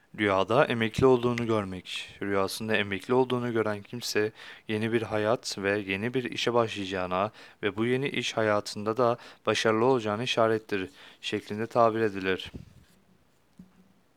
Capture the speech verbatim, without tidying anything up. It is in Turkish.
Rüyada emekli olduğunu görmek. Rüyasında emekli olduğunu gören kimse yeni bir hayat ve yeni bir işe başlayacağına ve bu yeni iş hayatında da başarılı olacağını işarettir şeklinde tabir edilir.